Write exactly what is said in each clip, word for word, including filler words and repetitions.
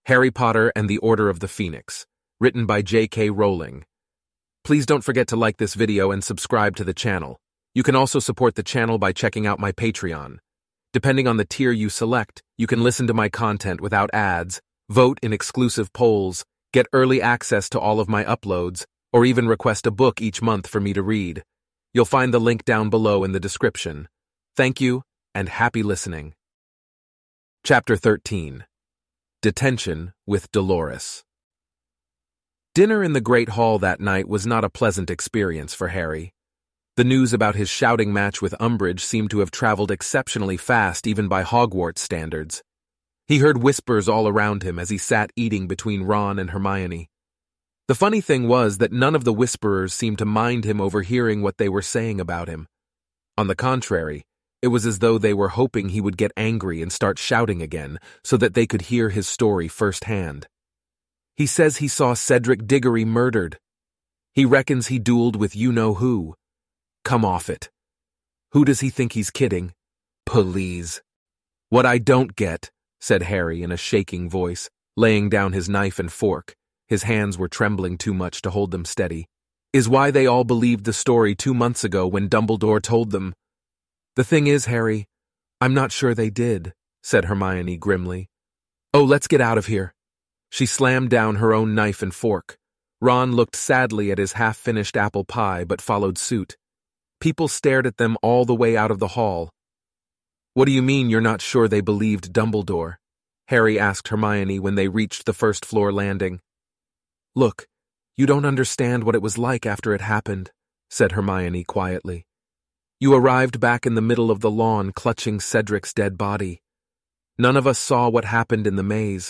Harry Potter and the Order of the Phoenix, written by J K Rowling. Please don't forget to like this video and subscribe to the channel. You can also support the channel by checking out my Patreon. Depending on the tier you select, you can listen to my content without ads, vote in exclusive polls, get early access to all of my uploads, or even request a book each month for me to read. You'll find the link down below in the description. Thank you, and happy listening. Chapter thirteen. Detention with Dolores. Dinner in the Great Hall that night was not a pleasant experience for Harry. The news about his shouting match with Umbridge seemed to have traveled exceptionally fast even by Hogwarts standards. He heard whispers all around him as he sat eating between Ron and Hermione. The funny thing was that none of the whisperers seemed to mind him overhearing what they were saying about him. On the contrary, it was as though they were hoping he would get angry and start shouting again so that they could hear his story firsthand. He says he saw Cedric Diggory murdered. He reckons he dueled with you-know-who. Come off it. Who does he think he's kidding? Please. What I don't get, said Harry in a shaking voice, laying down his knife and fork, his hands were trembling too much to hold them steady, is why they all believed the story two months ago when Dumbledore told them. The thing is, Harry, I'm not sure they did, said Hermione grimly. Oh, let's get out of here. She slammed down her own knife and fork. Ron looked sadly at his half-finished apple pie but followed suit. People stared at them all the way out of the hall. What do you mean you're not sure they believed Dumbledore? Harry asked Hermione when they reached the first-floor landing. Look, you don't understand what it was like after it happened, said Hermione quietly. You arrived back in the middle of the lawn clutching Cedric's dead body. None of us saw what happened in the maze.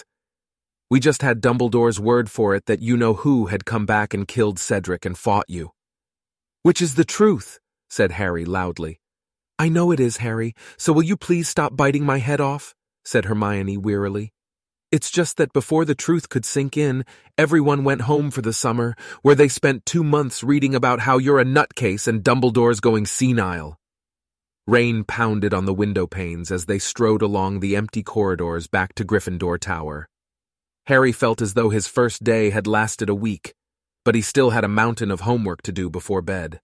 We just had Dumbledore's word for it that you-know-who had come back and killed Cedric and fought you. Which is the truth, said Harry loudly. I know it is, Harry, so will you please stop biting my head off? Said Hermione wearily. It's just that before the truth could sink in, everyone went home for the summer, where they spent two months reading about how you're a nutcase and Dumbledore's going senile. Rain pounded on the window panes as they strode along the empty corridors back to Gryffindor Tower. Harry felt as though his first day had lasted a week, but he still had a mountain of homework to do before bed.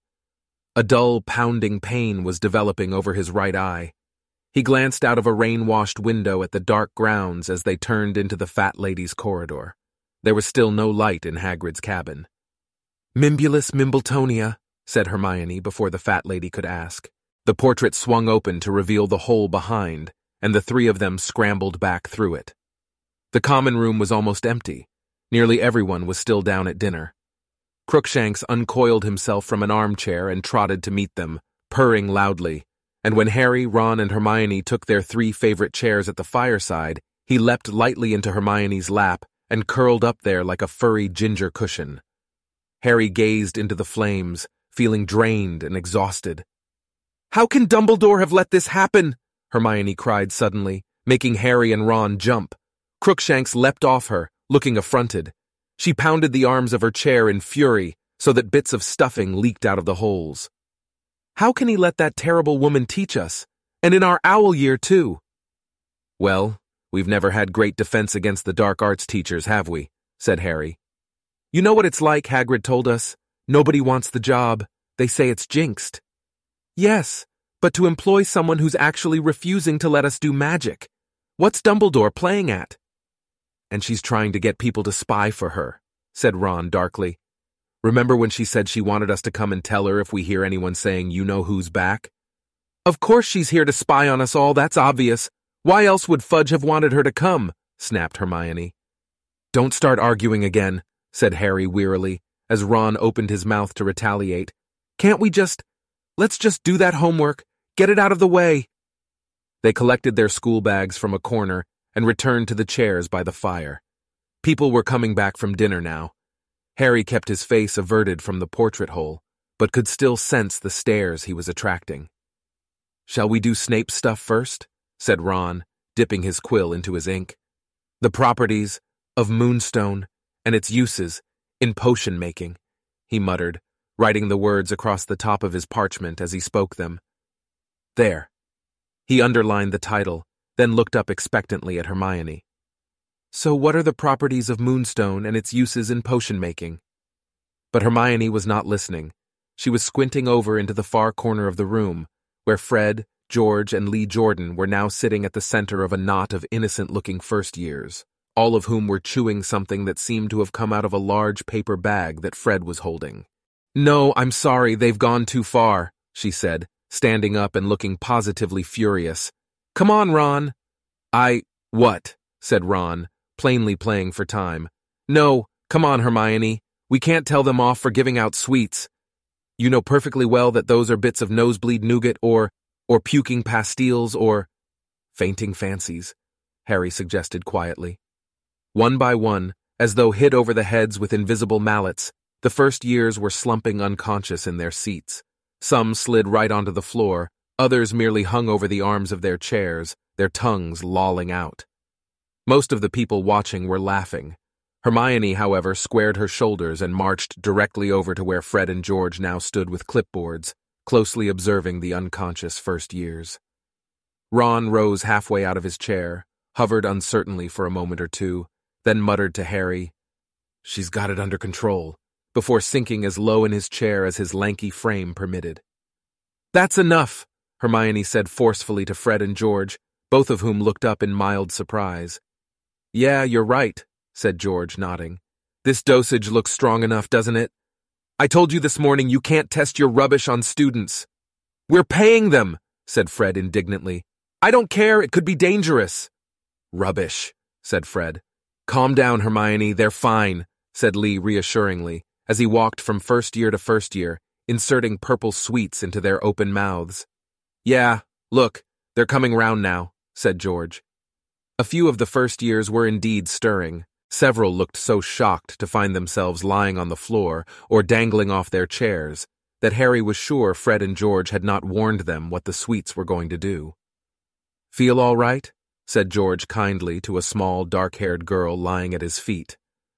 A dull, pounding pain was developing over his right eye. He glanced out of a rain-washed window at the dark grounds as they turned into the Fat Lady's corridor. There was still no light in Hagrid's cabin. Mimbulus Mimbletonia, said Hermione before the Fat Lady could ask. The portrait swung open to reveal the hole behind, and the three of them scrambled back through it. The common room was almost empty. Nearly everyone was still down at dinner. Crookshanks uncoiled himself from an armchair and trotted to meet them, purring loudly. And when Harry, Ron, and Hermione took their three favorite chairs at the fireside, he leapt lightly into Hermione's lap and curled up there like a furry ginger cushion. Harry gazed into the flames, feeling drained and exhausted. How can Dumbledore have let this happen? Hermione cried suddenly, making Harry and Ron jump. Crookshanks leapt off her, looking affronted. She pounded the arms of her chair in fury so that bits of stuffing leaked out of the holes. How can he let that terrible woman teach us? And in our owl year, too. Well, we've never had great defense against the dark arts teachers, have we? Said Harry. You know what it's like, Hagrid told us. Nobody wants the job. They say it's jinxed. Yes, but to employ someone who's actually refusing to let us do magic. What's Dumbledore playing at? And she's trying to get people to spy for her, said Ron darkly. Remember when she said she wanted us to come and tell her if we hear anyone saying you-know-who's back? Of course she's here to spy on us all, that's obvious. Why else would Fudge have wanted her to come? Snapped Hermione. Don't start arguing again, said Harry wearily, as Ron opened his mouth to retaliate. Can't we just... Let's just do that homework. Get it out of the way. They collected their school bags from a corner and returned to the chairs by the fire. People were coming back from dinner now. Harry kept his face averted from the portrait hole, but could still sense the stares he was attracting. Shall we do Snape stuff first? Said Ron, dipping his quill into his ink. The properties of Moonstone and its uses in potion-making, he muttered, writing the words across the top of his parchment as he spoke them. There. He underlined the title, then looked up expectantly at Hermione. So what are the properties of moonstone and its uses in potion making? But Hermione was not listening. She was squinting over into the far corner of the room, where Fred, George, and Lee Jordan were now sitting at the center of a knot of innocent-looking first years, all of whom were chewing something that seemed to have come out of a large paper bag that Fred was holding. "No, I'm sorry, they've gone too far," she said, standing up and looking positively furious. "Come on, Ron." I, what? Said Ron, plainly playing for time. "No, come on, Hermione. We can't tell them off for giving out sweets. You know perfectly well that those are bits of nosebleed nougat or, or puking pastilles or fainting fancies," Harry suggested quietly. One by one, as though hit over the heads with invisible mallets, the first years were slumping unconscious in their seats. Some slid right onto the floor, others merely hung over the arms of their chairs, their tongues lolling out. Most of the people watching were laughing. Hermione, however, squared her shoulders and marched directly over to where Fred and George now stood with clipboards, closely observing the unconscious first years. Ron rose halfway out of his chair, hovered uncertainly for a moment or two, then muttered to Harry, "She's got it under control," before sinking as low in his chair as his lanky frame permitted. "That's enough," Hermione said forcefully to Fred and George, both of whom looked up in mild surprise. "Yeah, you're right," said George, nodding. "This dosage looks strong enough, doesn't it? I told you this morning you can't test your rubbish on students." "We're paying them," said Fred indignantly. "I don't care, it could be dangerous." "Rubbish," said Fred. "Calm down, Hermione, they're fine," said Lee reassuringly, as he walked from first year to first year, inserting purple sweets into their open mouths. "Yeah, look, they're coming round now," said George. A few of the first years were indeed stirring. Several looked so shocked to find themselves lying on the floor or dangling off their chairs that Harry was sure Fred and George had not warned them what the sweets were going to do. "Feel all right?" said George kindly to a small, dark-haired girl lying at his feet.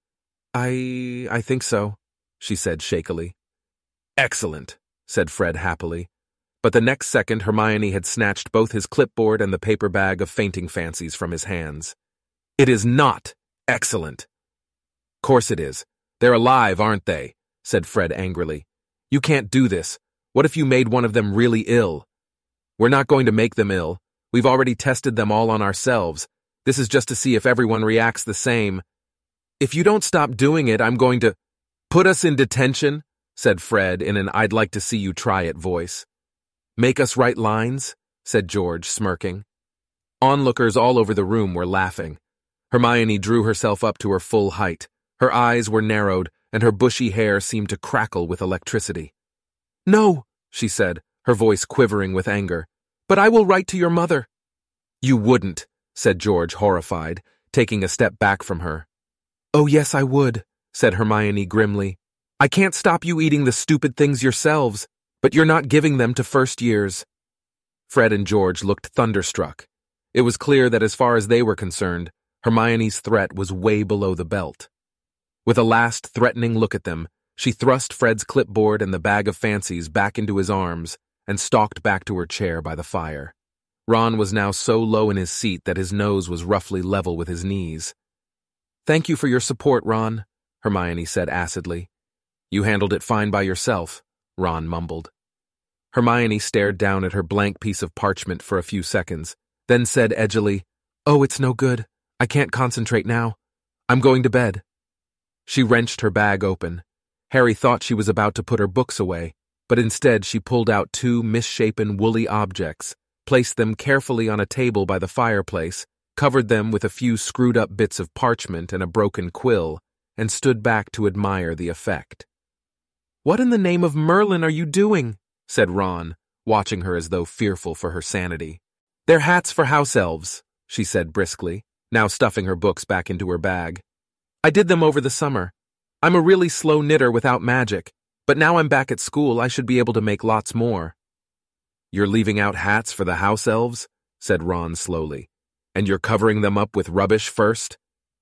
I... I think so," she said shakily. "Excellent," said Fred happily. But the next second Hermione had snatched both his clipboard and the paper bag of fainting fancies from his hands. "It is not excellent." "Course it is. They're alive, aren't they?" said Fred angrily. "You can't do this. What if you made one of them really ill?" "We're not going to make them ill. We've already tested them all on ourselves. This is just to see if everyone reacts the same." "If you don't stop doing it, I'm going to—" "Put us in detention," said Fred in an "I'd like to see you try it" voice. "Make us write lines?" said George, smirking. Onlookers all over the room were laughing. Hermione drew herself up to her full height. Her eyes were narrowed, and her bushy hair seemed to crackle with electricity. "No," she said, her voice quivering with anger. "But I will write to your mother." "You wouldn't," said George, horrified, taking a step back from her. "Oh, yes, I would," said Hermione grimly. "I can't stop you eating the stupid things yourselves, but you're not giving them to first years." Fred and George looked thunderstruck. It was clear that as far as they were concerned, Hermione's threat was way below the belt. With a last threatening look at them, she thrust Fred's clipboard and the bag of fancies back into his arms and stalked back to her chair by the fire. Ron was now so low in his seat that his nose was roughly level with his knees. "Thank you for your support, Ron," Hermione said acidly. "You handled it fine by yourself," Ron mumbled. Hermione stared down at her blank piece of parchment for a few seconds, then said edgily, "Oh, it's no good. I can't concentrate now. I'm going to bed." She wrenched her bag open. Harry thought she was about to put her books away, but instead she pulled out two misshapen woolly objects, placed them carefully on a table by the fireplace, covered them with a few screwed-up bits of parchment and a broken quill, and stood back to admire the effect. "What in the name of Merlin are you doing?" said Ron, watching her as though fearful for her sanity. "They're hats for house elves," she said briskly, now stuffing her books back into her bag. "I did them over the summer. I'm a really slow knitter without magic, but now I'm back at school, I should be able to make lots more." "You're leaving out hats for the house elves?" said Ron slowly. "And you're covering them up with rubbish first?"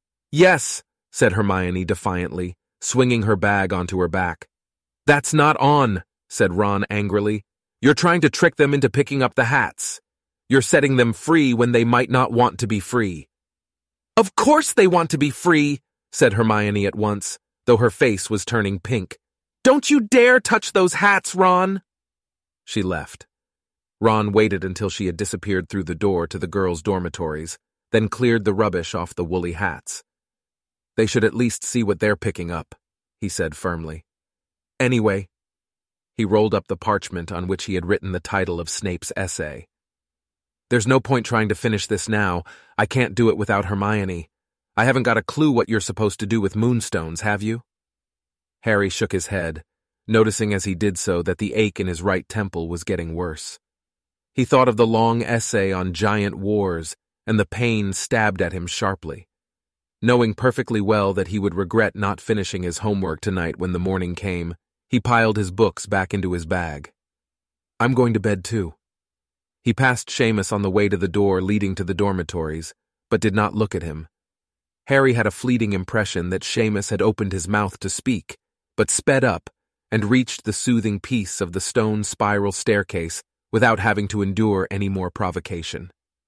"Yes," said Hermione defiantly, swinging her bag onto her back. "That's not on," said Ron angrily. "You're trying to trick them into picking up the hats. You're setting them free when they might not want to be free." "Of course they want to be free," said Hermione at once, though her face was turning pink. "Don't you dare touch those hats, Ron!" She left. Ron waited until she had disappeared through the door to the girls' dormitories, then cleared the rubbish off the woolly hats. "They should at least see what they're picking up," he said firmly. "Anyway," he rolled up the parchment on which he had written the title of Snape's essay. "There's no point trying to finish this now. I can't do it without Hermione. I haven't got a clue what you're supposed to do with moonstones, have you?" Harry shook his head, noticing as he did so that the ache in his right temple was getting worse. He thought of the long essay on giant wars, and the pain stabbed at him sharply. Knowing perfectly well that he would regret not finishing his homework tonight when the morning came, he piled his books back into his bag. "I'm going to bed too." He passed Seamus on the way to the door leading to the dormitories, but did not look at him. Harry had a fleeting impression that Seamus had opened his mouth to speak, but sped up and reached the soothing peace of the stone spiral staircase without having to endure any more provocation.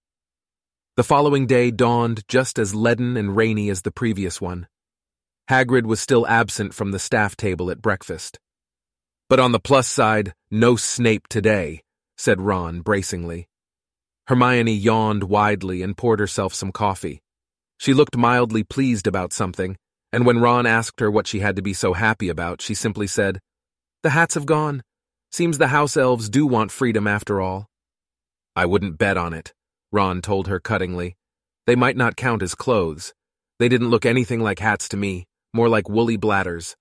The following day dawned just as leaden and rainy as the previous one. Hagrid was still absent from the staff table at breakfast. "But on the plus side, no Snape today," said Ron bracingly. Hermione yawned widely and poured herself some coffee. She looked mildly pleased about something, and when Ron asked her what she had to be so happy about, she simply said, "The hats have gone. Seems the house elves do want freedom after all." "I wouldn't bet on it," Ron told her cuttingly. "They might not count as clothes. They didn't look anything like hats to me, more like woolly bladders."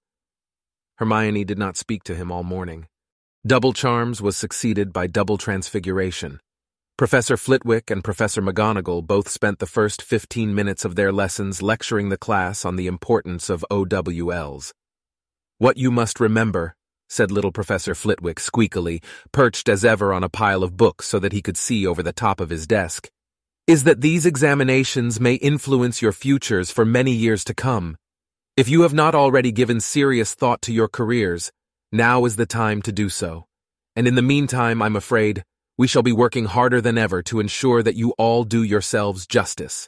Hermione did not speak to him all morning. Double Charms was succeeded by Double Transfiguration. Professor Flitwick and Professor McGonagall both spent the first fifteen minutes of their lessons lecturing the class on the importance of O W Ls. "What you must remember," said little Professor Flitwick squeakily, perched as ever on a pile of books so that he could see over the top of his desk, "is that these examinations may influence your futures for many years to come. If you have not already given serious thought to your careers, now is the time to do so. And in the meantime, I'm afraid, we shall be working harder than ever to ensure that you all do yourselves justice."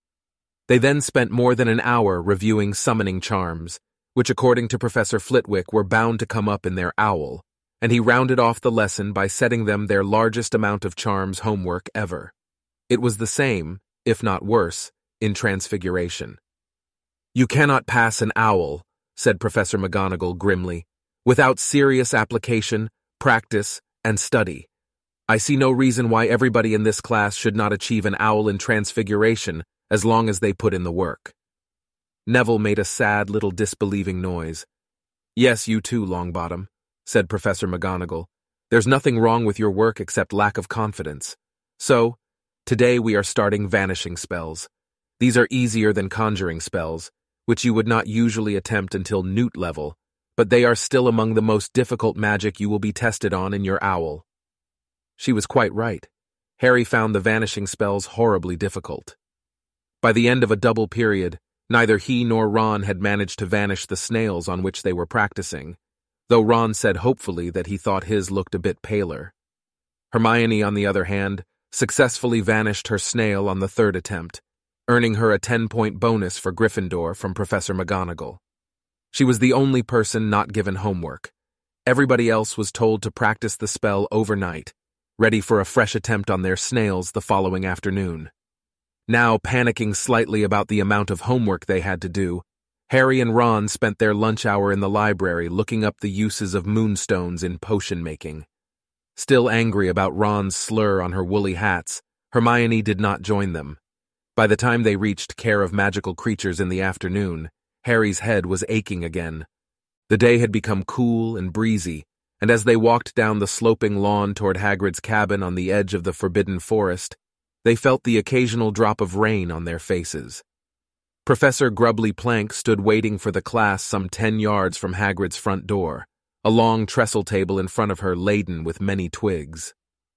They then spent more than an hour reviewing summoning charms, which according to Professor Flitwick were bound to come up in their owl, and he rounded off the lesson by setting them their largest amount of charms homework ever. It was the same, if not worse, in Transfiguration. "You cannot pass an owl," said Professor McGonagall grimly, "without serious application, practice, and study. I see no reason why everybody in this class should not achieve an owl in Transfiguration as long as they put in the work." Neville made a sad little disbelieving noise. "Yes, you too, Longbottom," said Professor McGonagall. "There's nothing wrong with your work except lack of confidence. So, today we are starting vanishing spells. These are easier than conjuring spells, which you would not usually attempt until Newt level, but they are still among the most difficult magic you will be tested on in your owl." She was quite right. Harry found the vanishing spells horribly difficult. By the end of a double period, neither he nor Ron had managed to vanish the snails on which they were practicing, though Ron said hopefully that he thought his looked a bit paler. Hermione, on the other hand, successfully vanished her snail on the third attempt, earning her a ten-point bonus for Gryffindor from Professor McGonagall. She was the only person not given homework. Everybody else was told to practice the spell overnight, ready for a fresh attempt on their snails the following afternoon. Now panicking slightly about the amount of homework they had to do, Harry and Ron spent their lunch hour in the library looking up the uses of moonstones in potion making. Still angry about Ron's slur on her woolly hats, Hermione did not join them. By the time they reached Care of Magical Creatures in the afternoon, Harry's head was aching again. The day had become cool and breezy, and as they walked down the sloping lawn toward Hagrid's cabin on the edge of the Forbidden Forest, they felt the occasional drop of rain on their faces. Professor Grubbly Plank stood waiting for the class some ten yards from Hagrid's front door, a long trestle table in front of her laden with many twigs.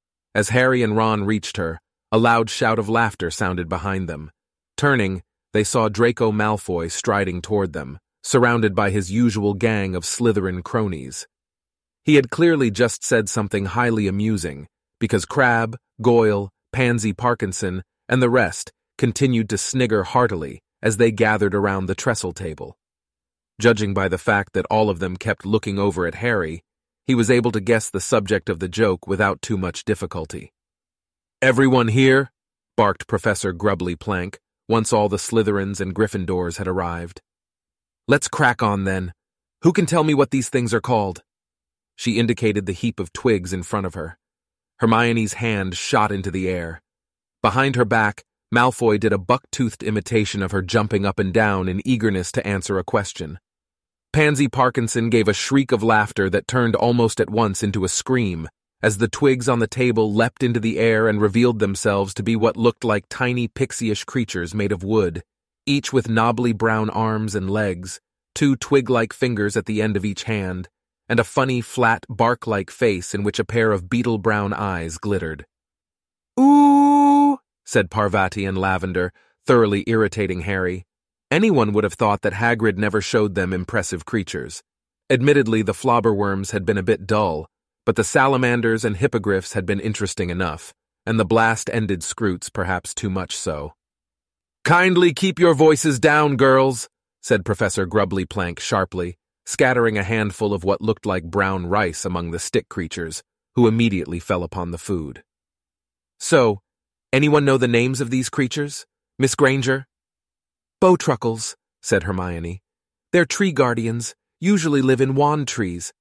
As Harry and Ron reached her, a loud shout of laughter sounded behind them. Turning, they saw Draco Malfoy striding toward them, surrounded by his usual gang of Slytherin cronies. He had clearly just said something highly amusing, because Crabbe, Goyle, Pansy Parkinson, and the rest continued to snigger heartily as they gathered around the trestle table. Judging by the fact that all of them kept looking over at Harry, he was able to guess the subject of the joke without too much difficulty. "Everyone here?" barked Professor Grubbly Plank, once all the Slytherins and Gryffindors had arrived. "Let's crack on then. Who can tell me what these things are called?" She indicated the heap of twigs in front of her. Hermione's hand shot into the air. Behind her back, Malfoy did a buck-toothed imitation of her jumping up and down in eagerness to answer a question. Pansy Parkinson gave a shriek of laughter that turned almost at once into a scream, as the twigs on the table leapt into the air and revealed themselves to be what looked like tiny pixie-ish creatures made of wood, each with knobbly brown arms and legs, two twig-like fingers at the end of each hand, and a funny, flat, bark-like face in which a pair of beetle-brown eyes glittered. "Ooh!" said Parvati and Lavender, thoroughly irritating Harry. Anyone would have thought that Hagrid never showed them impressive creatures. Admittedly, the flobberworms had been a bit dull, but the salamanders and hippogriffs had been interesting enough, and the blast-ended scroots perhaps too much so. "Kindly keep your voices down, girls," said Professor Grubbly Plank sharply, scattering a handful of what looked like brown rice among the stick creatures, who immediately fell upon the food. "So, anyone know the names of these creatures? Miss Granger?" "Bowtruckles," said Hermione. "They're tree guardians, usually live in wand trees."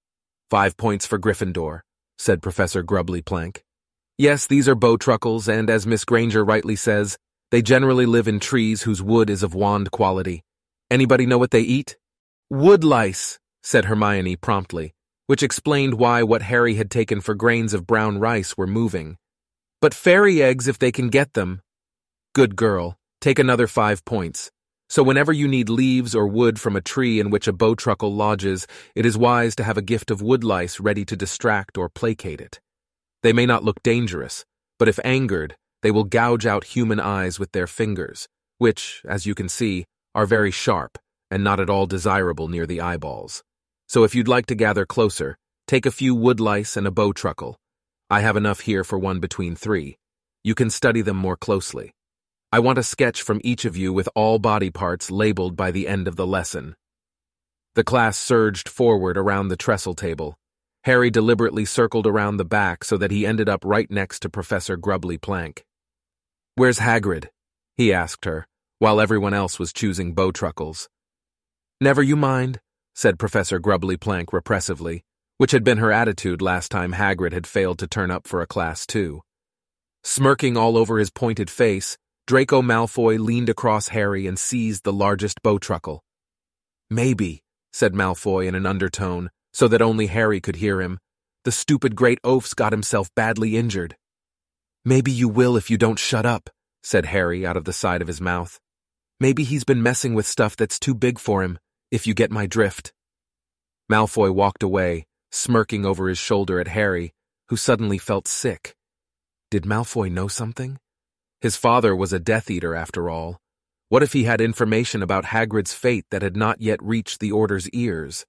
"Five points for Gryffindor," said Professor Grubbly Plank. "Yes, these are Bowtruckles, and as Miss Granger rightly says, they generally live in trees whose wood is of wand quality. Anybody know what they eat?" "Woodlice," said Hermione promptly, which explained why what Harry had taken for grains of brown rice were moving. "But fairy eggs if they can get them." "Good girl. Take another five points. So whenever you need leaves or wood from a tree in which a bowtruckle lodges, it is wise to have a gift of woodlice ready to distract or placate it. They may not look dangerous, but if angered, they will gouge out human eyes with their fingers, which, as you can see, are very sharp and not at all desirable near the eyeballs. So if you'd like to gather closer, take a few woodlice and a bowtruckle. I have enough here for one between three. You can study them more closely. I want a sketch from each of you with all body parts labeled by the end of the lesson." The class surged forward around the trestle table. Harry deliberately circled around the back so that he ended up right next to Professor Grubbly Plank. "Where's Hagrid?" he asked her, while everyone else was choosing bowtruckles. "Never you mind," said Professor Grubbly Plank repressively, which had been her attitude last time Hagrid had failed to turn up for a class too. Smirking all over his pointed face, Draco Malfoy leaned across Harry and seized the largest bowtruckle. "Maybe," said Malfoy in an undertone, so that only Harry could hear him. "The stupid great oaf's got himself badly injured." "Maybe you will if you don't shut up," said Harry out of the side of his mouth. "Maybe he's been messing with stuff that's too big for him, if you get my drift." Malfoy walked away, smirking over his shoulder at Harry, who suddenly felt sick. Did Malfoy know something? His father was a Death Eater after all. What if he had information about Hagrid's fate that had not yet reached the Order's ears?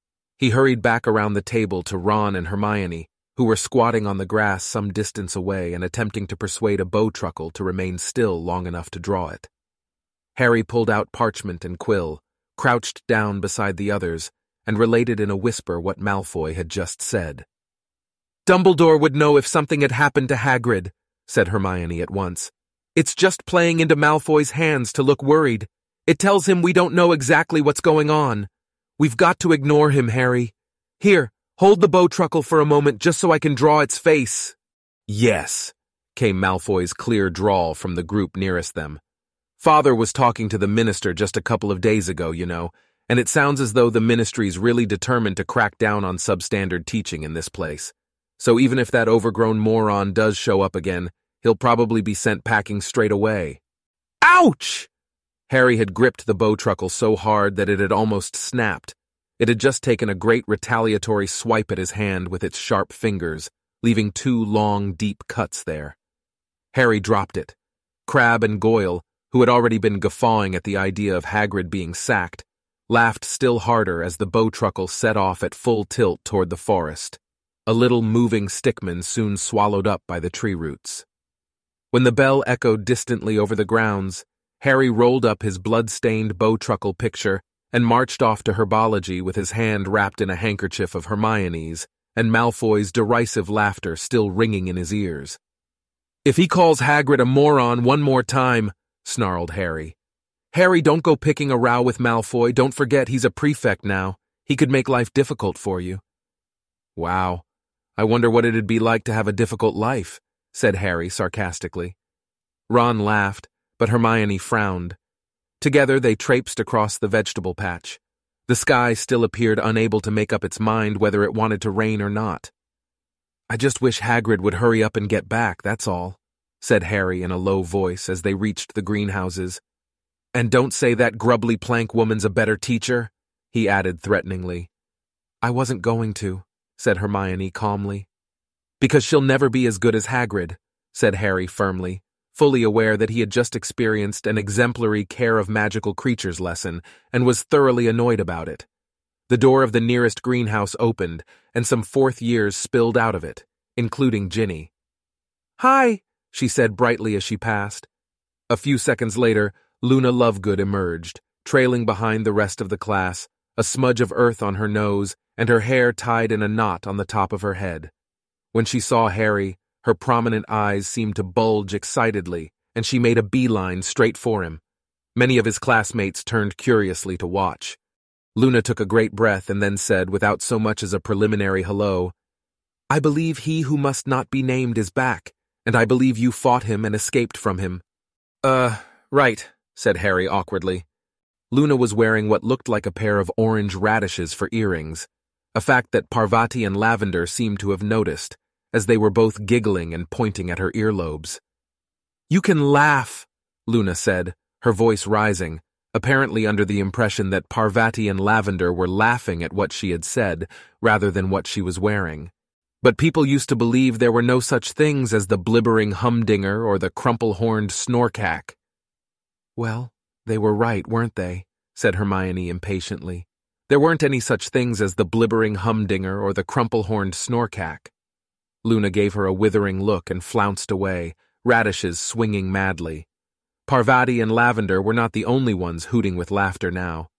He hurried back around the table to Ron and Hermione, who were squatting on the grass some distance away and attempting to persuade a bowtruckle to remain still long enough to draw it. Harry pulled out parchment and quill, crouched down beside the others, and related in a whisper what Malfoy had just said. "Dumbledore would know if something had happened to Hagrid," said Hermione at once. "It's just playing into Malfoy's hands to look worried. It tells him we don't know exactly what's going on. We've got to ignore him, Harry. Here, hold the bowtruckle for a moment just so I can draw its face." "Yes," came Malfoy's clear drawl from the group nearest them. "Father was talking to the minister just a couple of days ago, you know, and it sounds as though the ministry's really determined to crack down on substandard teaching in this place. So even if that overgrown moron does show up again, he'll probably be sent packing straight away." "Ouch!" Harry had gripped the bowtruckle so hard that it had almost snapped. It had just taken a great retaliatory swipe at his hand with its sharp fingers, leaving two long, deep cuts there. Harry dropped it. Crabbe and Goyle, who had already been guffawing at the idea of Hagrid being sacked, laughed still harder as the bowtruckle set off at full tilt toward the forest, a little moving stickman soon swallowed up by the tree roots. When the bell echoed distantly over the grounds, Harry rolled up his blood-stained Bowtruckle picture and marched off to herbology with his hand wrapped in a handkerchief of Hermione's, and Malfoy's derisive laughter still ringing in his ears. "If he calls Hagrid a moron one more time," snarled Harry. "Harry, don't go picking a row with Malfoy. Don't forget he's a prefect now. He could make life difficult for you." "Wow, I wonder what it'd be like to have a difficult life," said Harry sarcastically. Ron laughed, but Hermione frowned. Together they traipsed across the vegetable patch. The sky still appeared unable to make up its mind whether it wanted to rain or not. "I just wish Hagrid would hurry up and get back, that's all," said Harry in a low voice as they reached the greenhouses. "And don't say that grubbly plank woman's a better teacher," he added threateningly. "I wasn't going to," said Hermione calmly. "Because she'll never be as good as Hagrid," said Harry firmly, fully aware that he had just experienced an exemplary care of magical creatures lesson and was thoroughly annoyed about it. The door of the nearest greenhouse opened, and some fourth years spilled out of it, including Ginny. "Hi," she said brightly as she passed. A few seconds later, Luna Lovegood emerged, trailing behind the rest of the class, a smudge of earth on her nose and her hair tied in a knot on the top of her head. When she saw Harry, her prominent eyes seemed to bulge excitedly, and she made a beeline straight for him. Many of his classmates turned curiously to watch. Luna took a great breath and then said, without so much as a preliminary hello, "I believe he who must not be named is back, and I believe you fought him and escaped from him." Uh, right, said Harry awkwardly. Luna was wearing what looked like a pair of orange radishes for earrings, a fact that Parvati and Lavender seemed to have noticed, as they were both giggling and pointing at her earlobes. "You can laugh," Luna said, her voice rising, apparently under the impression that Parvati and Lavender were laughing at what she had said rather than what she was wearing. "But people used to believe there were no such things as the blibbering humdinger or the crumple-horned snorkack." "Well, they were right, weren't they?" said Hermione impatiently. "There weren't any such things as the blibbering humdinger or the crumple-horned snorkack." Luna gave her a withering look and flounced away, radishes swinging madly. Parvati and Lavender were not the only ones hooting with laughter now.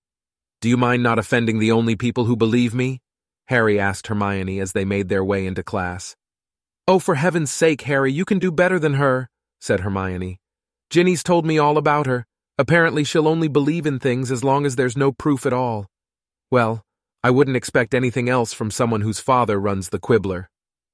"Do you mind not offending the only people who believe me?" Harry asked Hermione as they made their way into class. "Oh, for heaven's sake, Harry, you can do better than her," said Hermione. "Ginny's told me all about her. Apparently she'll only believe in things as long as there's no proof at all. Well, I wouldn't expect anything else from someone whose father runs the Quibbler."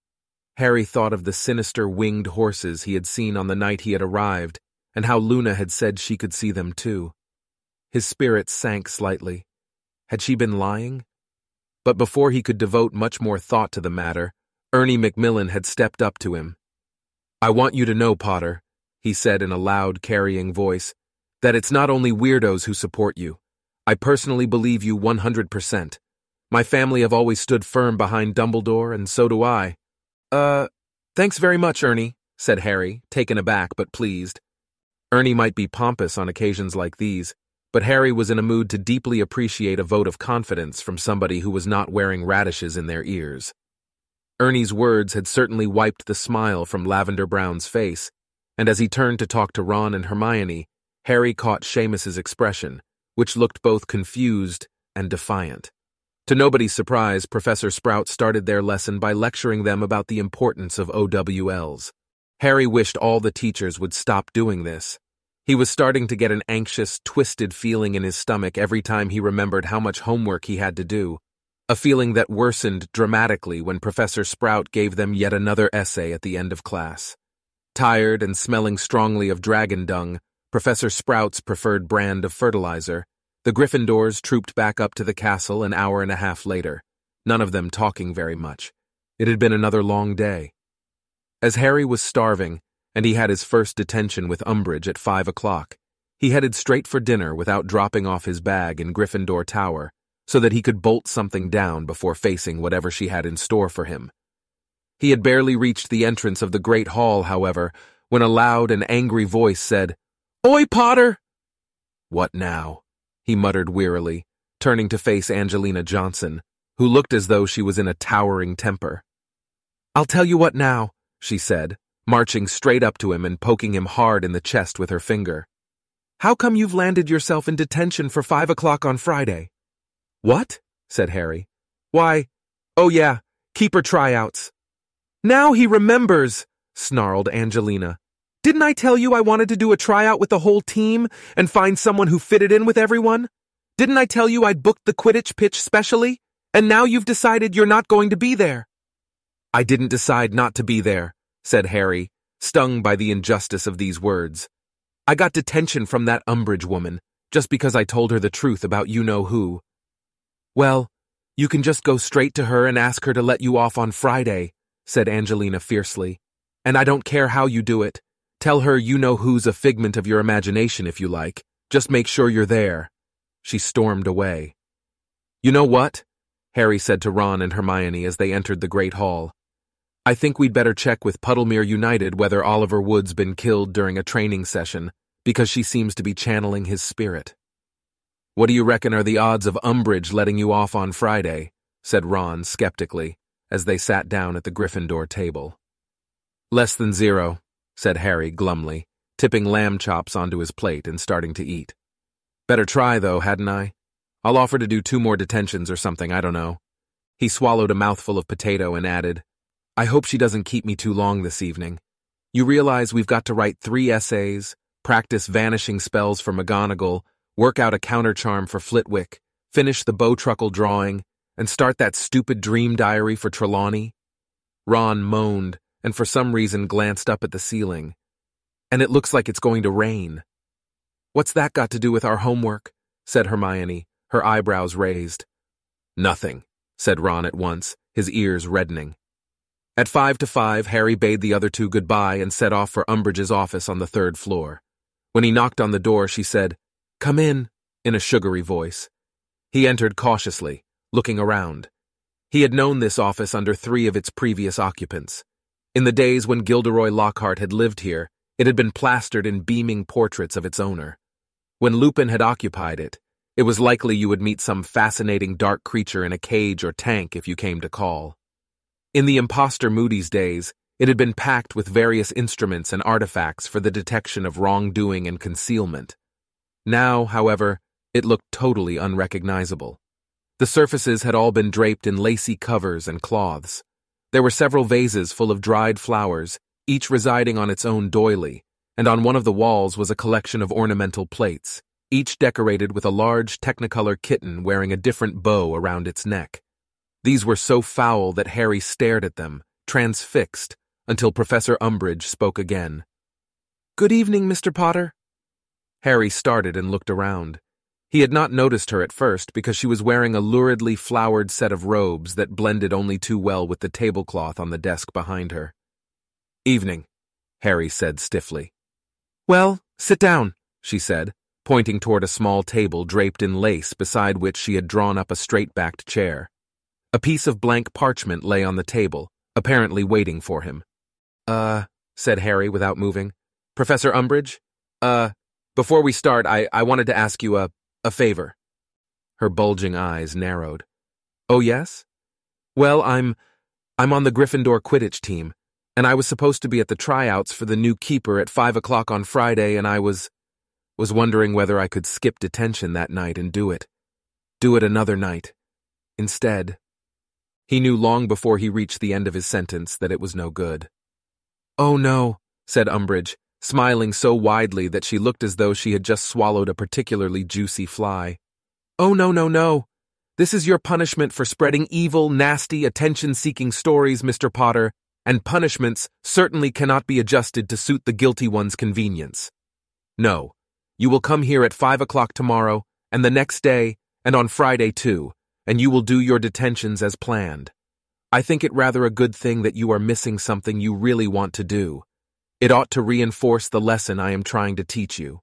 Harry thought of the sinister winged horses he had seen on the night he had arrived, and how Luna had said she could see them too. His spirits sank slightly. Had she been lying? But before he could devote much more thought to the matter, Ernie Macmillan had stepped up to him. "I want you to know, Potter," he said in a loud, carrying voice, "that it's not only weirdos who support you. I personally believe you one hundred percent. My family have always stood firm behind Dumbledore, and so do I." Uh, thanks very much, Ernie," said Harry, taken aback but pleased. Ernie might be pompous on occasions like these, but Harry was in a mood to deeply appreciate a vote of confidence from somebody who was not wearing radishes in their ears. Ernie's words had certainly wiped the smile from Lavender Brown's face, and as he turned to talk to Ron and Hermione, Harry caught Seamus's expression, which looked both confused and defiant. To nobody's surprise, Professor Sprout started their lesson by lecturing them about the importance of O W Ls. Harry wished all the teachers would stop doing this. He was starting to get an anxious, twisted feeling in his stomach every time he remembered how much homework he had to do, a feeling that worsened dramatically when Professor Sprout gave them yet another essay at the end of class. Tired and smelling strongly of dragon dung, Professor Sprout's preferred brand of fertilizer, the Gryffindors trooped back up to the castle an hour and a half later, none of them talking very much. It had been another long day. As Harry was starving, and he had his first detention with Umbridge at five o'clock, he headed straight for dinner without dropping off his bag in Gryffindor Tower, so that he could bolt something down before facing whatever she had in store for him. He had barely reached the entrance of the Great Hall, however, when a loud and angry voice said, "Oi, Potter!" "What now?" he muttered wearily, turning to face Angelina Johnson, who looked as though she was in a towering temper. "I'll tell you what now," she said, marching straight up to him and poking him hard in the chest with her finger. "How come you've landed yourself in detention for five o'clock on Friday?" "What?" said Harry. "Why, oh yeah, keeper tryouts." "Now he remembers," snarled Angelina. "Didn't I tell you I wanted to do a tryout with the whole team and find someone who fitted in with everyone? Didn't I tell you I'd booked the Quidditch pitch specially? And now you've decided you're not going to be there." "I didn't decide not to be there," said Harry, stung by the injustice of these words. "I got detention from that Umbridge woman, just because I told her the truth about you-know-who." "Well, you can just go straight to her and ask her to let you off on Friday," said Angelina fiercely. "And I don't care how you do it. Tell her you-know-who's a figment of your imagination if you like. Just make sure you're there." She stormed away. "You know what?" Harry said to Ron and Hermione as they entered the Great Hall. "I think we'd better check with Puddlemere United whether Oliver Wood's been killed during a training session, because she seems to be channeling his spirit." "What do you reckon are the odds of Umbridge letting you off on Friday?" said Ron skeptically, as they sat down at the Gryffindor table. "Less than zero," said Harry glumly, tipping lamb chops onto his plate and starting to eat. "Better try, though, hadn't I? I'll offer to do two more detentions or something, I don't know." He swallowed a mouthful of potato and added, "I hope she doesn't keep me too long this evening. You realize we've got to write three essays, practice vanishing spells for McGonagall, work out a countercharm for Flitwick, finish the Bowtruckle drawing, and start that stupid dream diary for Trelawney?" Ron moaned and for some reason glanced up at the ceiling. "And it looks like it's going to rain." "What's that got to do with our homework?" said Hermione, her eyebrows raised. "Nothing," said Ron at once, his ears reddening. At five to five, Harry bade the other two goodbye and set off for Umbridge's office on the third floor. When he knocked on the door, she said, "Come in," in a sugary voice. He entered cautiously, looking around. He had known this office under three of its previous occupants. In the days when Gilderoy Lockhart had lived here, it had been plastered in beaming portraits of its owner. When Lupin had occupied it, it was likely you would meet some fascinating dark creature in a cage or tank if you came to call. In the imposter Moody's days, it had been packed with various instruments and artifacts for the detection of wrongdoing and concealment. Now, however, it looked totally unrecognizable. The surfaces had all been draped in lacy covers and cloths. There were several vases full of dried flowers, each residing on its own doily, and on one of the walls was a collection of ornamental plates, each decorated with a large Technicolor kitten wearing a different bow around its neck. These were so foul that Harry stared at them, transfixed, until Professor Umbridge spoke again. "Good evening, Mister Potter." Harry started and looked around. He had not noticed her at first because she was wearing a luridly flowered set of robes that blended only too well with the tablecloth on the desk behind her. "Evening," Harry said stiffly. "Well, sit down," she said, pointing toward a small table draped in lace beside which she had drawn up a straight-backed chair. A piece of blank parchment lay on the table, apparently waiting for him. Uh, said Harry without moving. "Professor Umbridge? Uh, before we start, I, I wanted to ask you a, a favor." Her bulging eyes narrowed. "Oh, yes? Well, I'm, I'm on the Gryffindor Quidditch team, and I was supposed to be at the tryouts for the new keeper at five o'clock on Friday, and I was, was wondering whether I could skip detention that night and do it. Do it another night. Instead." He knew long before he reached the end of his sentence that it was no good. "Oh no," said Umbridge, smiling so widely that she looked as though she had just swallowed a particularly juicy fly. "Oh no, no, no. This is your punishment for spreading evil, nasty, attention-seeking stories, Mister Potter, and punishments certainly cannot be adjusted to suit the guilty one's convenience. No, you will come here at five o'clock tomorrow, and the next day, and on Friday too, and you will do your detentions as planned. I think it rather a good thing that you are missing something you really want to do. It ought to reinforce the lesson I am trying to teach you."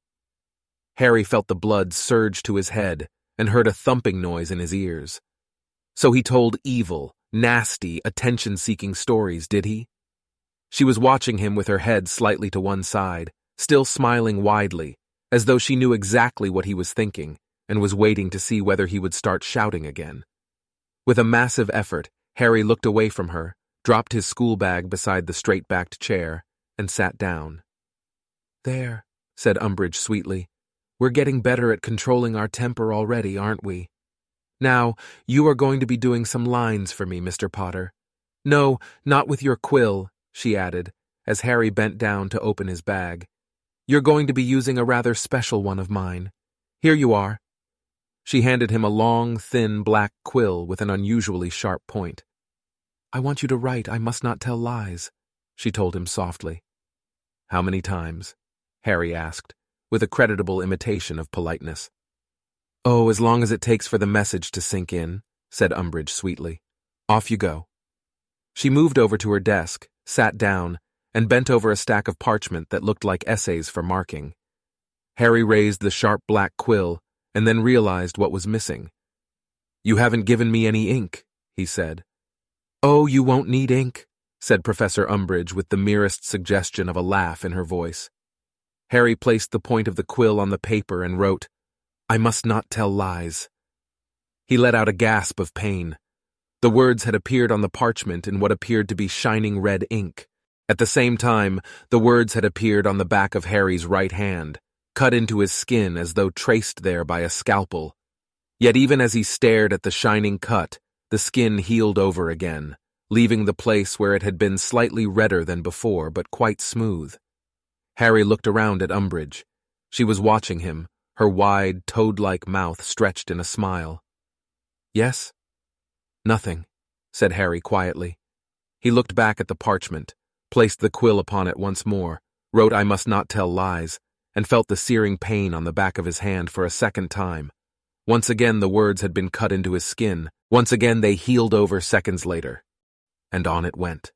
Harry felt the blood surge to his head and heard a thumping noise in his ears. So he told evil, nasty, attention-seeking stories, did he? She was watching him with her head slightly to one side, still smiling widely, as though she knew exactly what he was thinking, and was waiting to see whether he would start shouting again. With a massive effort, Harry looked away from her, dropped his school bag beside the straight-backed chair, and sat down. "There," said Umbridge sweetly. "We're getting better at controlling our temper already, aren't we? Now, you are going to be doing some lines for me, Mister Potter. No, not with your quill," she added, as Harry bent down to open his bag. "You're going to be using a rather special one of mine. Here you are." She handed him a long, thin black quill with an unusually sharp point. "I want you to write 'I must not tell lies,'" she told him softly. "How many times?" Harry asked, with a creditable imitation of politeness. "Oh, as long as it takes for the message to sink in," said Umbridge sweetly. "Off you go." She moved over to her desk, sat down, and bent over a stack of parchment that looked like essays for marking. Harry raised the sharp black quill and then realized what was missing. "You haven't given me any ink," he said. "Oh, you won't need ink," said Professor Umbridge with the merest suggestion of a laugh in her voice. Harry placed the point of the quill on the paper and wrote, "I must not tell lies." He let out a gasp of pain. The words had appeared on the parchment in what appeared to be shining red ink. At the same time, the words had appeared on the back of Harry's right hand, cut into his skin as though traced there by a scalpel. Yet even as he stared at the shining cut, the skin healed over again, leaving the place where it had been slightly redder than before, but quite smooth. Harry looked around at Umbridge. She was watching him, her wide, toad-like mouth stretched in a smile. "Yes?" "Nothing," said Harry quietly. He looked back at the parchment, placed the quill upon it once more, wrote "I must not tell lies," and felt the searing pain on the back of his hand for a second time. Once again the words had been cut into his skin. Once again they healed over seconds later. And on it went.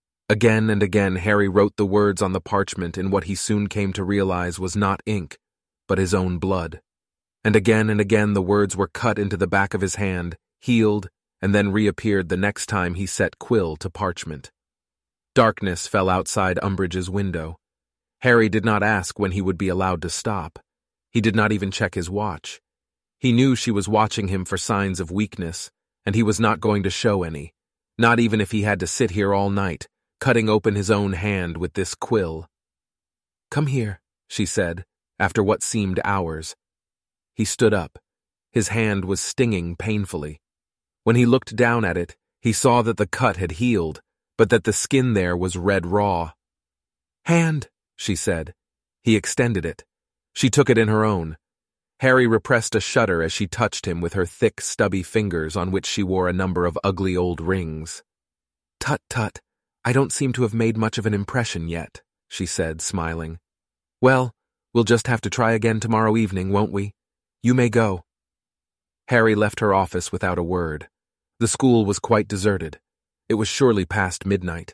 Again and again Harry wrote the words on the parchment in what he soon came to realize was not ink, but his own blood. And again and again the words were cut into the back of his hand, healed, and then reappeared the next time he set quill to parchment. Darkness fell outside Umbridge's window. Harry did not ask when he would be allowed to stop. He did not even check his watch. He knew she was watching him for signs of weakness, and he was not going to show any, not even if he had to sit here all night, cutting open his own hand with this quill. "Come here," she said, after what seemed hours. He stood up. His hand was stinging painfully. When he looked down at it, he saw that the cut had healed, but that the skin there was red raw. "Hand," she said. He extended it. She took it in her own. Harry repressed a shudder as she touched him with her thick, stubby fingers on which she wore a number of ugly old rings. "Tut, tut, I don't seem to have made much of an impression yet," she said, smiling. "Well, we'll just have to try again tomorrow evening, won't we? You may go." Harry left her office without a word. The school was quite deserted. It was surely past midnight.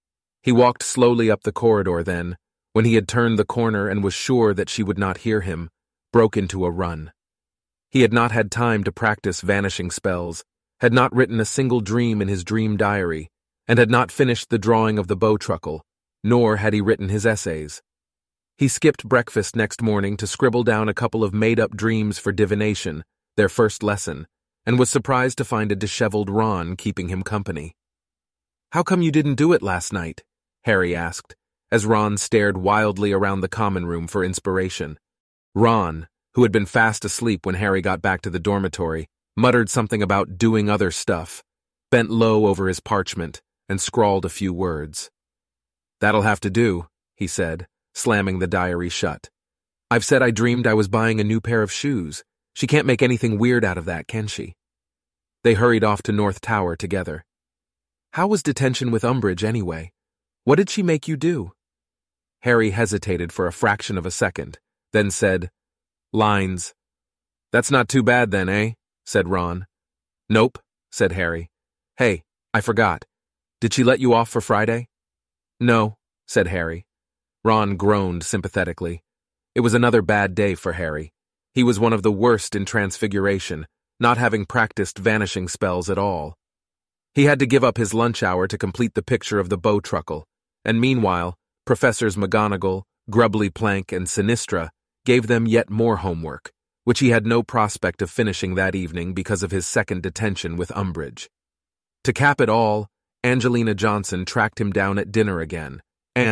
He walked slowly up the corridor then, when he had turned the corner and was sure that she would not hear him, broke into a run. He had not had time to practice vanishing spells, had not written a single dream in his dream diary, and had not finished the drawing of the bowtruckle, nor had he written his essays. He skipped breakfast next morning to scribble down a couple of made-up dreams for divination, their first lesson, and was surprised to find a disheveled Ron keeping him company. "How come you didn't do it last night?" Harry asked, as Ron stared wildly around the common room for inspiration. Ron, who had been fast asleep when Harry got back to the dormitory, muttered something about doing other stuff, bent low over his parchment, and scrawled a few words. "That'll have to do," he said, slamming the diary shut. "I've said I dreamed I was buying a new pair of shoes. She can't make anything weird out of that, can she?" They hurried off to North Tower together. "How was detention with Umbridge, anyway? What did she make you do?" Harry hesitated for a fraction of a second, then said, "Lines." "That's not too bad then, eh?" said Ron. "Nope," said Harry. "Hey, I forgot. Did she let you off for Friday?" "No," said Harry. Ron groaned sympathetically. It was another bad day for Harry. He was one of the worst in Transfiguration, not having practiced vanishing spells at all. He had to give up his lunch hour to complete the picture of the bowtruckle, and meanwhile, Professors McGonagall, Grubbly Plank, and Sinistra gave them yet more homework, which he had no prospect of finishing that evening because of his second detention with Umbridge. To cap it all, Angelina Johnson tracked him down at dinner again, and,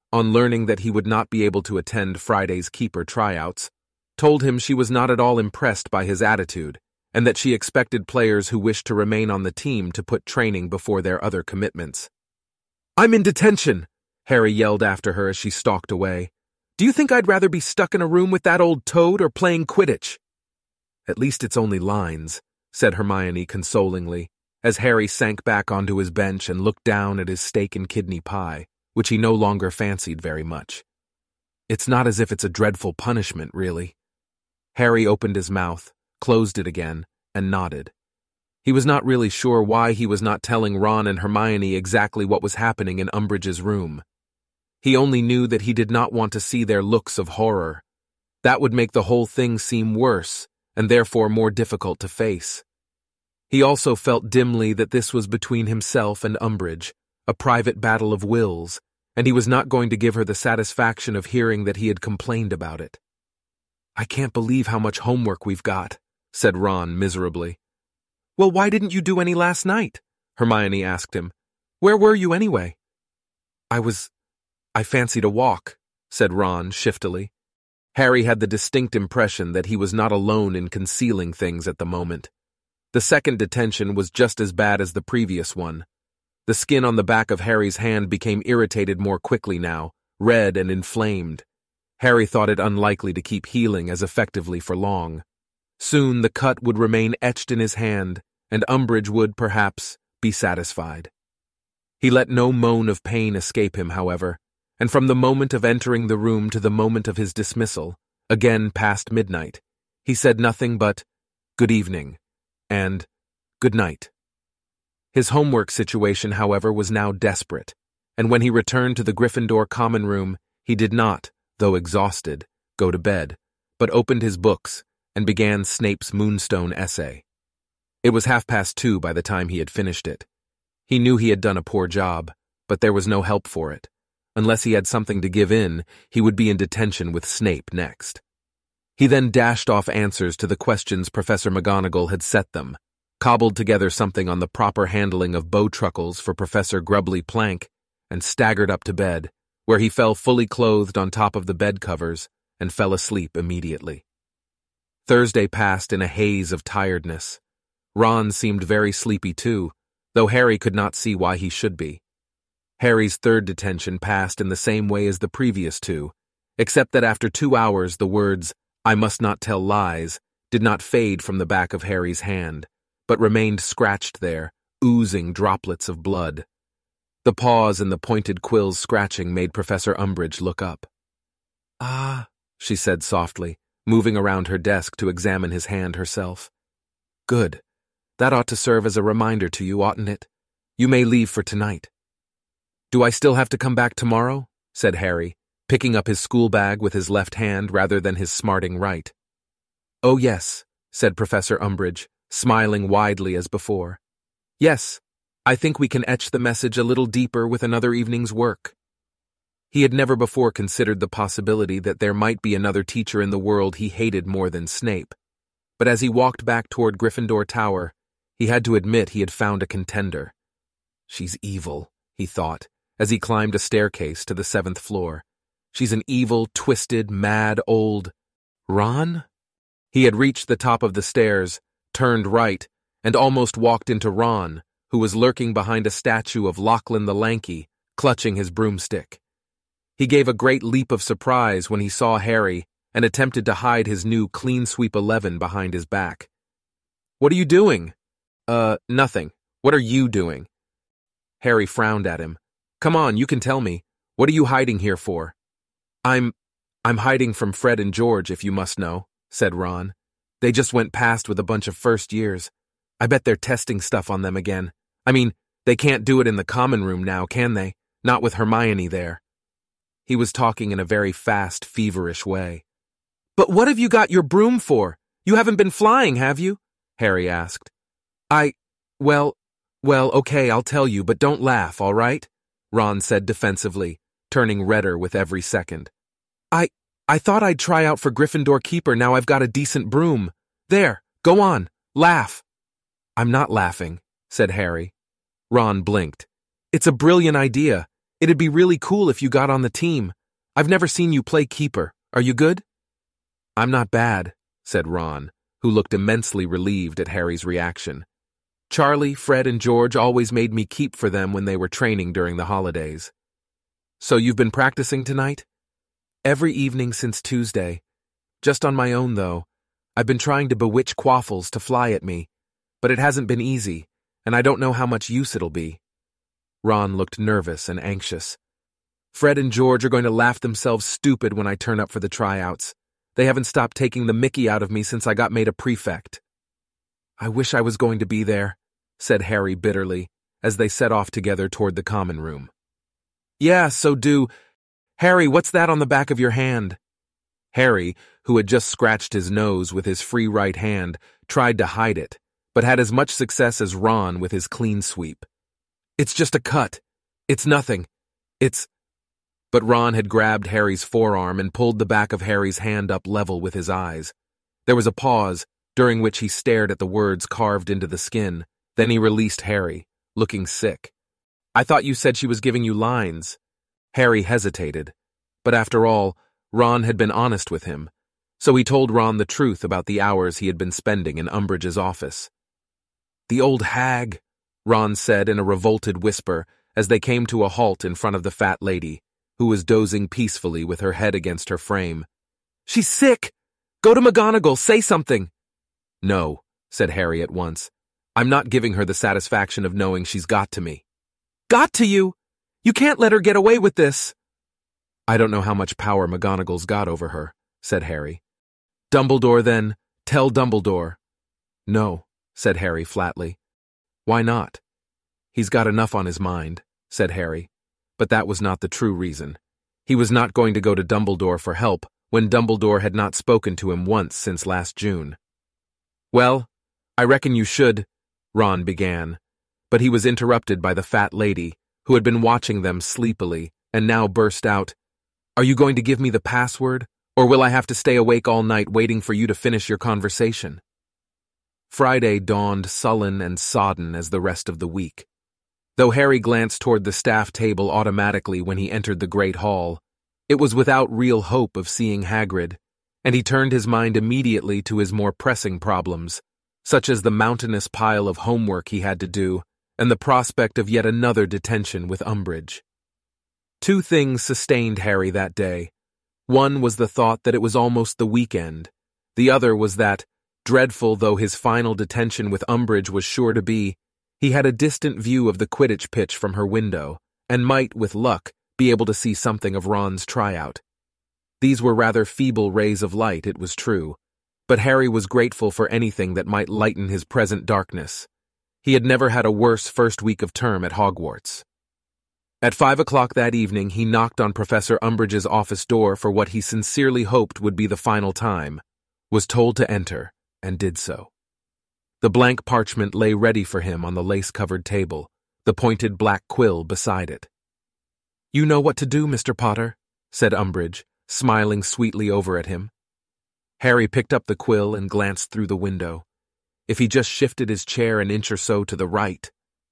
on learning that he would not be able to attend Friday's keeper tryouts, told him she was not at all impressed by his attitude and that she expected players who wished to remain on the team to put training before their other commitments. "I'm in detention," Harry yelled after her as she stalked away. "Do you think I'd rather be stuck in a room with that old toad or playing Quidditch?" "At least it's only lines," said Hermione consolingly, as Harry sank back onto his bench and looked down at his steak and kidney pie, which he no longer fancied very much. "It's not as if it's a dreadful punishment, really." Harry opened his mouth, closed it again, and nodded. He was not really sure why he was not telling Ron and Hermione exactly what was happening in Umbridge's room. He only knew that he did not want to see their looks of horror. That would make the whole thing seem worse, and therefore more difficult to face. He also felt dimly that this was between himself and Umbridge, a private battle of wills, and he was not going to give her the satisfaction of hearing that he had complained about it. "I can't believe how much homework we've got," said Ron miserably. "Well, why didn't you do any last night?" Hermione asked him. "Where were you anyway?" I was... I fancied a walk," said Ron shiftily. Harry had the distinct impression that he was not alone in concealing things at the moment. The second detention was just as bad as the previous one. The skin on the back of Harry's hand became irritated more quickly now, red and inflamed. Harry thought it unlikely to keep healing as effectively for long. Soon the cut would remain etched in his hand, and Umbridge would, perhaps, be satisfied. He let no moan of pain escape him, however, and from the moment of entering the room to the moment of his dismissal, again past midnight, he said nothing but, "Good evening," and "Good night." His homework situation, however, was now desperate, and when he returned to the Gryffindor common room, he did not, though exhausted, go to bed, but opened his books and began Snape's Moonstone essay. It was half past two by the time he had finished it. He knew he had done a poor job, but there was no help for it. Unless he had something to give in, he would be in detention with Snape next. He then dashed off answers to the questions Professor McGonagall had set them, cobbled together something on the proper handling of bowtruckles for Professor Grubbly Plank, and staggered up to bed, where he fell fully clothed on top of the bed covers and fell asleep immediately. Thursday passed in a haze of tiredness. Ron seemed very sleepy too, though Harry could not see why he should be. Harry's third detention passed in the same way as the previous two, except that after two hours the words, "I must not tell lies," did not fade from the back of Harry's hand, but remained scratched there, oozing droplets of blood. The pause in the pointed quill's scratching made Professor Umbridge look up. "Ah," she said softly, moving around her desk to examine his hand herself. "Good. That ought to serve as a reminder to you, oughtn't it? You may leave for tonight." "Do I still have to come back tomorrow?" said Harry, picking up his school bag with his left hand rather than his smarting right. "Oh, yes," said Professor Umbridge, smiling widely as before. "Yes, I think we can etch the message a little deeper with another evening's work." He had never before considered the possibility that there might be another teacher in the world he hated more than Snape, but as he walked back toward Gryffindor Tower, he had to admit he had found a contender. "She's evil," he thought, as he climbed a staircase to the seventh floor. "She's an evil, twisted, mad old... Ron?" He had reached the top of the stairs, turned right, and almost walked into Ron, who was lurking behind a statue of Lachlan the Lanky, clutching his broomstick. He gave a great leap of surprise when he saw Harry and attempted to hide his new Clean Sweep eleven behind his back. "What are you doing?" Uh, nothing. What are you doing?" Harry frowned at him. "Come on, you can tell me. What are you hiding here for?" I'm... I'm hiding from Fred and George, if you must know," said Ron. "They just went past with a bunch of first years. I bet they're testing stuff on them again. I mean, they can't do it in the common room now, can they? Not with Hermione there." He was talking in a very fast, feverish way. "But what have you got your broom for? You haven't been flying, have you?" Harry asked. I... well... well, okay, I'll tell you, but don't laugh, all right?" Ron said defensively, turning redder with every second. I... I thought I'd try out for Gryffindor Keeper now I've got a decent broom. There, go on, laugh." "I'm not laughing," said Harry. Ron blinked. "It's a brilliant idea. It'd be really cool if you got on the team. I've never seen you play keeper. Are you good? I'm not bad, said Ron, who looked immensely relieved at Harry's reaction. Charlie, Fred, and George always made me keep for them when they were training during the holidays. So you've been practicing tonight? Every evening since Tuesday. Just on my own, though. I've been trying to bewitch Quaffles to fly at me, but it hasn't been easy, and I don't know how much use it'll be. Ron looked nervous and anxious. Fred and George are going to laugh themselves stupid when I turn up for the tryouts. They haven't stopped taking the mickey out of me since I got made a prefect. I wish I was going to be there, said Harry bitterly, as they set off together toward the common room. Yeah, so do. Harry, what's that on the back of your hand? Harry, who had just scratched his nose with his free right hand, tried to hide it, but had as much success as Ron with his clean sweep. It's just a cut. It's nothing. It's... But Ron had grabbed Harry's forearm and pulled the back of Harry's hand up level with his eyes. There was a pause, during which he stared at the words carved into the skin. Then he released Harry, looking sick. I thought you said she was giving you lines. Harry hesitated. But after all, Ron had been honest with him, so he told Ron the truth about the hours he had been spending in Umbridge's office. The old hag, Ron said in a revolted whisper as they came to a halt in front of the fat lady, who was dozing peacefully with her head against her frame. She's sick! Go to McGonagall, say something! No, said Harry at once. I'm not giving her the satisfaction of knowing she's got to me. Got to you? You can't let her get away with this! I don't know how much power McGonagall's got over her, said Harry. Dumbledore, then. Tell Dumbledore. No, said Harry flatly. Why not? He's got enough on his mind, said Harry. But that was not the true reason. He was not going to go to Dumbledore for help when Dumbledore had not spoken to him once since last June. Well, I reckon you should, Ron began, but he was interrupted by the fat lady, who had been watching them sleepily, and now burst out, Are you going to give me the password, or will I have to stay awake all night waiting for you to finish your conversation? Friday dawned sullen and sodden as the rest of the week. Though Harry glanced toward the staff table automatically when he entered the Great Hall, it was without real hope of seeing Hagrid, and he turned his mind immediately to his more pressing problems, such as the mountainous pile of homework he had to do and the prospect of yet another detention with Umbridge. Two things sustained Harry that day. One was the thought that it was almost the weekend. The other was that, dreadful though his final detention with Umbridge was sure to be, he had a distant view of the Quidditch pitch from her window, and might, with luck, be able to see something of Ron's tryout. These were rather feeble rays of light, it was true, but Harry was grateful for anything that might lighten his present darkness. He had never had a worse first week of term at Hogwarts. At five o'clock that evening, he knocked on Professor Umbridge's office door for what he sincerely hoped would be the final time, was told to enter, and did so. The blank parchment lay ready for him on the lace-covered table, the pointed black quill beside it. You know what to do, Mister Potter, said Umbridge, smiling sweetly over at him. Harry picked up the quill and glanced through the window. If he just shifted his chair an inch or so to the right.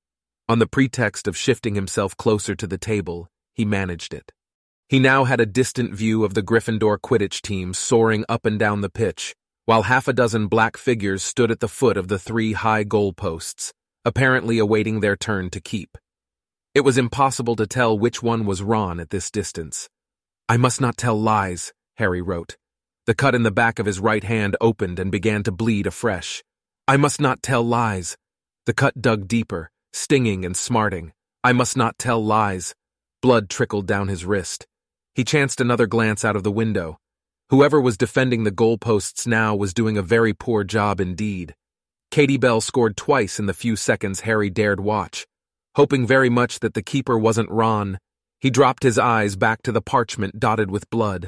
On the pretext of shifting himself closer to the table, he managed it. He now had a distant view of the Gryffindor Quidditch team soaring up and down the pitch, while half a dozen black figures stood at the foot of the three high goalposts, apparently awaiting their turn to keep. It was impossible to tell which one was Ron at this distance. I must not tell lies, Harry wrote. The cut in the back of his right hand opened and began to bleed afresh. I must not tell lies. The cut dug deeper, stinging and smarting. I must not tell lies. Blood trickled down his wrist. He chanced another glance out of the window. Whoever was defending the goalposts now was doing a very poor job indeed. Katie Bell scored twice in the few seconds Harry dared watch. Hoping very much that the keeper wasn't Ron, he dropped his eyes back to the parchment dotted with blood.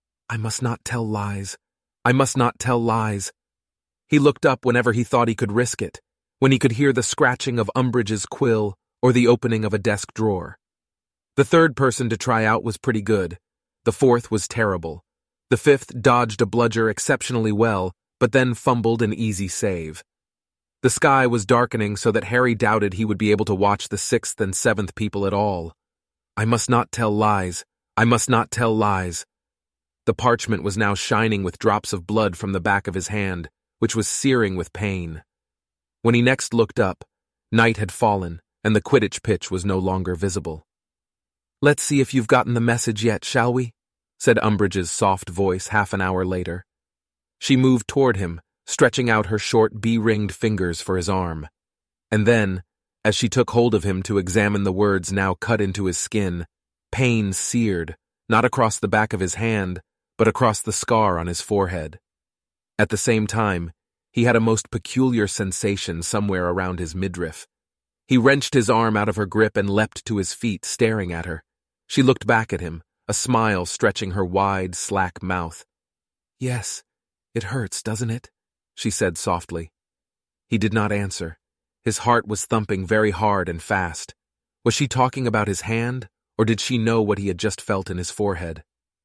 I must not tell lies. I must not tell lies. He looked up whenever he thought he could risk it, when he could hear the scratching of Umbridge's quill or the opening of a desk drawer. The third person to try out was pretty good. The fourth was terrible. The fifth dodged a bludger exceptionally well, but then fumbled an easy save. The sky was darkening so that Harry doubted he would be able to watch the sixth and seventh people at all. I must not tell lies. I must not tell lies. The parchment was now shining with drops of blood from the back of his hand, which was searing with pain. When he next looked up, night had fallen, and the Quidditch pitch was no longer visible. "Let's see if you've gotten the message yet, shall we?" said Umbridge's soft voice half an hour later. She moved toward him, stretching out her short bee-ringed fingers for his arm. And then, as she took hold of him to examine the words now cut into his skin, pain seared, not across the back of his hand, but across the scar on his forehead. At the same time, he had a most peculiar sensation somewhere around his midriff. He wrenched his arm out of her grip and leapt to his feet, staring at her. She looked back at him, a smile stretching her wide, slack mouth. "Yes, it hurts, doesn't it?" she said softly. He did not answer. His heart was thumping very hard and fast. Was she talking about his hand, or did she know what he had just felt in his forehead?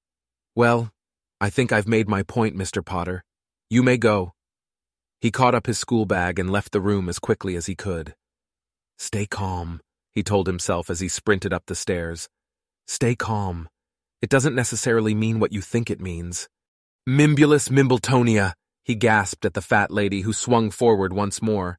"Well, I think I've made my point, Mister Potter. You may go." He caught up his school bag and left the room as quickly as he could. "Stay calm," he told himself as he sprinted up the stairs. "Stay calm. It doesn't necessarily mean what you think it means." "Mimbulus Mimbletonia," he gasped at the fat lady who swung forward once more.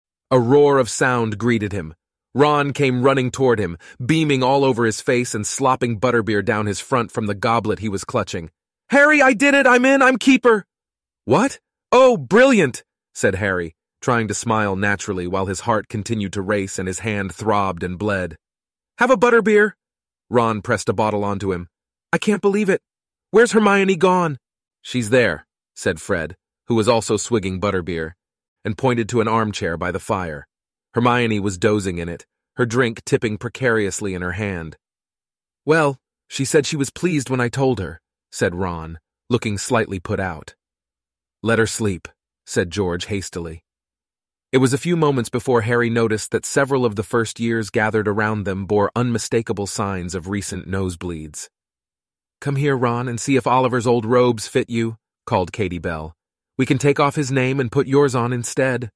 A roar of sound greeted him. Ron came running toward him, beaming all over his face and slopping butterbeer down his front from the goblet he was clutching. "Harry, I did it! I'm in! I'm keeper!" "What? Oh, brilliant!" said Harry, trying to smile naturally while his heart continued to race and his hand throbbed and bled. "Have a butterbeer?" Ron pressed a bottle onto him. "I can't believe it. Where's Hermione gone?" "She's there," said Fred, who was also swigging butterbeer, and pointed to an armchair by the fire. Hermione was dozing in it, her drink tipping precariously in her hand. "Well, she said she was pleased when I told her," said Ron, looking slightly put out. "Let her sleep," said George hastily. It was a few moments before Harry noticed that several of the first years gathered around them bore unmistakable signs of recent nosebleeds. "Come here, Ron, and see if Oliver's old robes fit you," called Katie Bell. "We can take off his name and put yours on instead."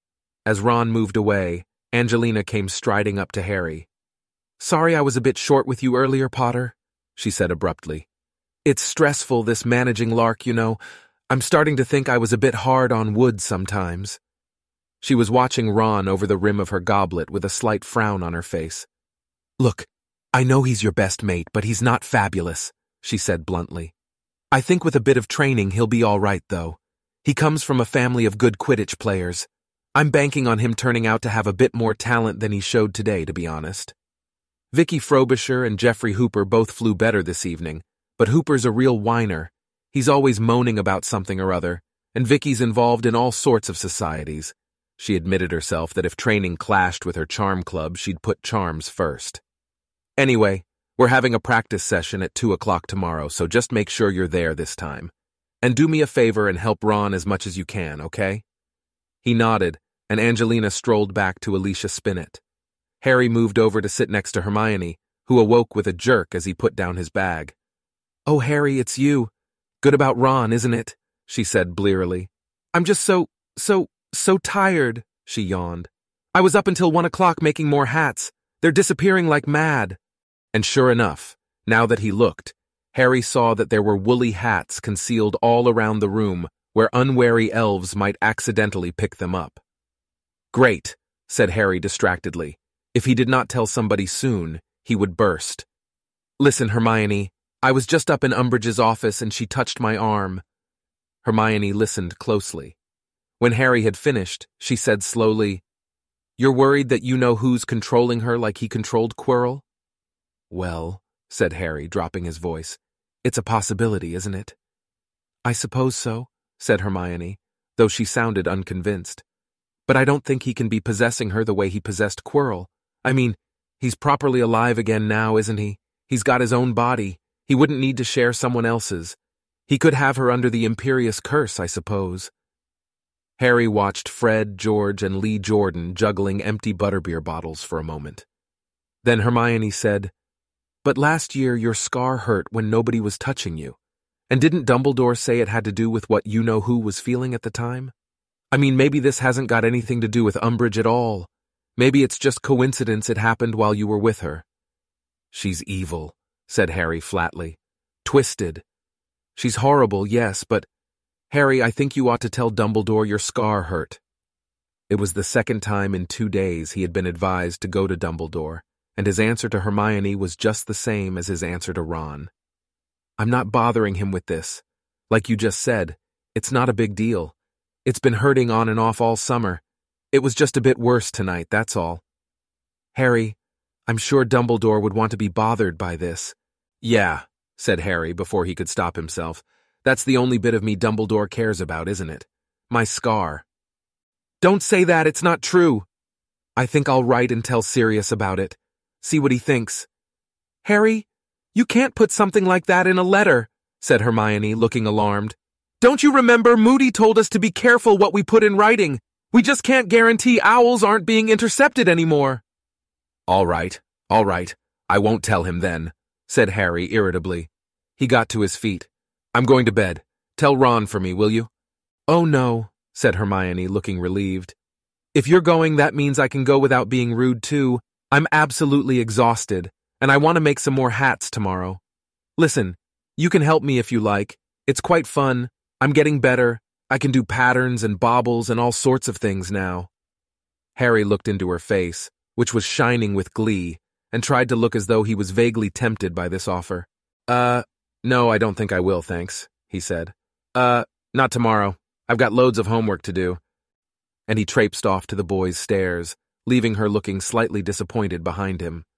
As Ron moved away, Angelina came striding up to Harry. "Sorry I was a bit short with you earlier, Potter," she said abruptly. "It's stressful, this managing lark, you know. I'm starting to think I was a bit hard on Wood sometimes." She was watching Ron over the rim of her goblet with a slight frown on her face. "Look, I know he's your best mate, but he's not fabulous," she said bluntly. "I think with a bit of training he'll be all right, though. He comes from a family of good Quidditch players. I'm banking on him turning out to have a bit more talent than he showed today, to be honest." Vicky Frobisher and Jeffrey Hooper both flew better this evening, but Hooper's a real whiner. He's always moaning about something or other, and Vicky's involved in all sorts of societies. She admitted herself that if training clashed with her charm club, she'd put charms first. "Anyway, we're having a practice session at two o'clock tomorrow, so just make sure you're there this time. And do me a favor and help Ron as much as you can, okay?" He nodded, and Angelina strolled back to Alicia Spinnet. Harry moved over to sit next to Hermione, who awoke with a jerk as he put down his bag. "Oh, Harry, it's you. Good about Ron, isn't it?" she said blearily. "I'm just so, so, so tired," she yawned. "I was up until one o'clock making more hats. They're disappearing like mad." And sure enough, now that he looked, Harry saw that there were woolly hats concealed all around the room where unwary elves might accidentally pick them up. "Great," said Harry distractedly. If he did not tell somebody soon, he would burst. "Listen, Hermione, I was just up in Umbridge's office and she touched my arm." Hermione listened closely. When Harry had finished, she said slowly, "You're worried that you know who's controlling her like he controlled Quirrell?" "Well," said Harry, dropping his voice, "it's a possibility, isn't it?" "I suppose so," said Hermione, though she sounded unconvinced. "But I don't think he can be possessing her the way he possessed Quirrell. I mean, he's properly alive again now, isn't he? He's got his own body. He wouldn't need to share someone else's. He could have her under the Imperious Curse, I suppose." Harry watched Fred, George, and Lee Jordan juggling empty butterbeer bottles for a moment. Then Hermione said, "But last year your scar hurt when nobody was touching you. And didn't Dumbledore say it had to do with what you-know-who was feeling at the time? I mean, maybe this hasn't got anything to do with Umbridge at all. Maybe it's just coincidence it happened while you were with her." She's evil, said Harry flatly. Twisted. She's horrible, yes, but Harry, I think you ought to tell Dumbledore your scar hurt. It was the second time in two days he had been advised to go to Dumbledore, and his answer to Hermione was just the same as his answer to Ron. I'm not bothering him with this. Like you just said, it's not a big deal. It's been hurting on and off all summer. It was just a bit worse tonight, that's all. Harry, I'm sure Dumbledore would want to be bothered by this. Yeah, said Harry before he could stop himself. That's the only bit of me Dumbledore cares about, isn't it? My scar. Don't say that, it's not true. I think I'll write and tell Sirius about it. See what he thinks. Harry, you can't put something like that in a letter, said Hermione, looking alarmed. Don't you remember Moody told us to be careful what we put in writing? We just can't guarantee owls aren't being intercepted anymore. All right, all right. I won't tell him then, said Harry irritably. He got to his feet. I'm going to bed. Tell Ron for me, will you? Oh no, said Hermione, looking relieved. If you're going, that means I can go without being rude too. I'm absolutely exhausted, and I want to make some more hats tomorrow. Listen, you can help me if you like. It's quite fun. I'm getting better. I can do patterns and baubles and all sorts of things now. Harry looked into her face, which was shining with glee, and tried to look as though he was vaguely tempted by this offer. Uh, no, I don't think I will, thanks, he said. Uh, not tomorrow. I've got loads of homework to do. And he traipsed off to the boys' stairs, leaving her looking slightly disappointed behind him.